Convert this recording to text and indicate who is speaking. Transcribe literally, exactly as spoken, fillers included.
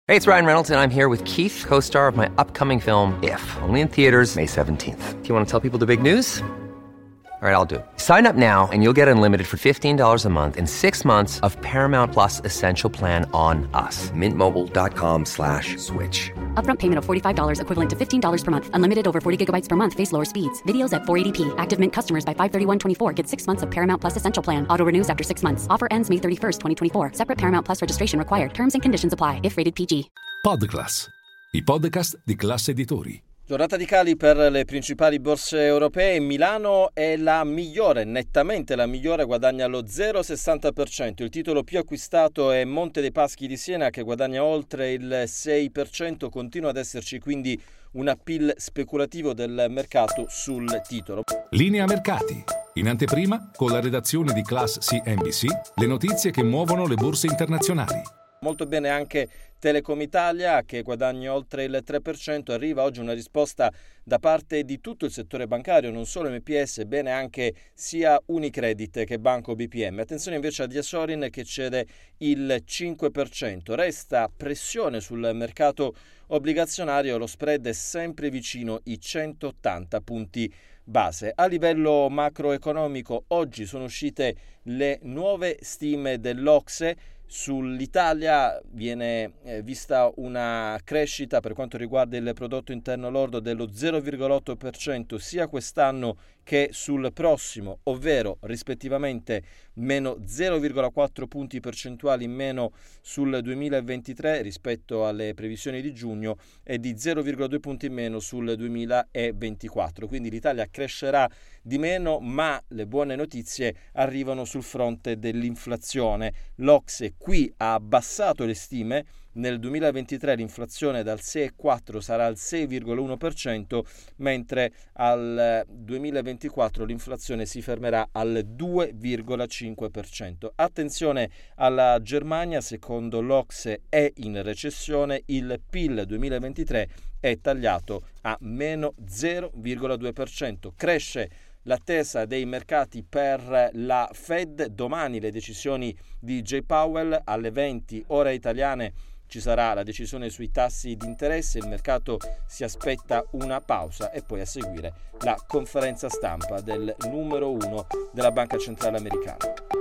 Speaker 1: Hey, it's Ryan Reynolds, and I'm here with Keith, co-star of my upcoming film, If, only in theaters May seventeenth. Do you want to tell people the big news? All right, I'll do it. Sign up now and you'll get unlimited for fifteen dollars a month and six months of Paramount Plus Essential Plan on us. Mint Mobile dot com slash switch.
Speaker 2: Upfront payment of forty-five dollars equivalent to fifteen dollars per month. Unlimited over forty gigabytes per month. Face lower speeds. Videos at four eighty p. Active Mint customers by five thirty-one twenty-four get six months of Paramount Plus Essential Plan. Auto renews after six months. Offer ends May thirty-first, twenty twenty-four. Separate Paramount Plus registration required. Terms and conditions apply if rated P G.
Speaker 3: Podclass, i podcast di Class Editori.
Speaker 4: Giornata di cali per le principali borse europee. Milano è la migliore, nettamente la migliore, guadagna lo zero virgola sessanta per cento. Il titolo più acquistato è Monte dei Paschi di Siena, che guadagna oltre il sei per cento. Continua ad esserci quindi un appeal speculativo del mercato sul titolo.
Speaker 3: Linea mercati. In anteprima, con la redazione di Class C N B C, le notizie che muovono le borse internazionali.
Speaker 4: Molto bene anche Telecom Italia, che guadagna oltre il tre per cento. Arriva oggi una risposta da parte di tutto il settore bancario, non solo M P S, bene anche sia Unicredit che Banco B P M. Attenzione invece a Diasorin, che cede il cinque per cento. Resta pressione sul mercato obbligazionario, lo spread è sempre vicino i centottanta punti base. A livello macroeconomico oggi sono uscite le nuove stime dell'Ocse. Sull'Italia viene eh, vista una crescita per quanto riguarda il prodotto interno lordo dello zero virgola otto per cento sia quest'anno che sul prossimo, ovvero rispettivamente meno zero virgola quattro punti percentuali in meno sul duemilaventitré rispetto alle previsioni di giugno e di zero virgola due punti in meno sul duemilaventiquattro. Quindi l'Italia crescerà di meno, ma le buone notizie arrivano sul fronte dell'inflazione. L'Ocse qui ha abbassato le stime. Nel duemilaventitré l'inflazione dal sei virgola quattro sarà al sei virgola uno per cento, mentre al duemilaventiquattro l'inflazione si fermerà al due virgola cinque per cento. Attenzione alla Germania, secondo l'Ocse è in recessione, il P I L duemilaventitré è tagliato a meno zero virgola due per cento. Cresce l'attesa dei mercati per la Fed. Domani le decisioni di Jay Powell alle venti ore italiane. Ci sarà la decisione sui tassi di interesse, il mercato si aspetta una pausa e poi a seguire la conferenza stampa del numero uno della Banca Centrale Americana.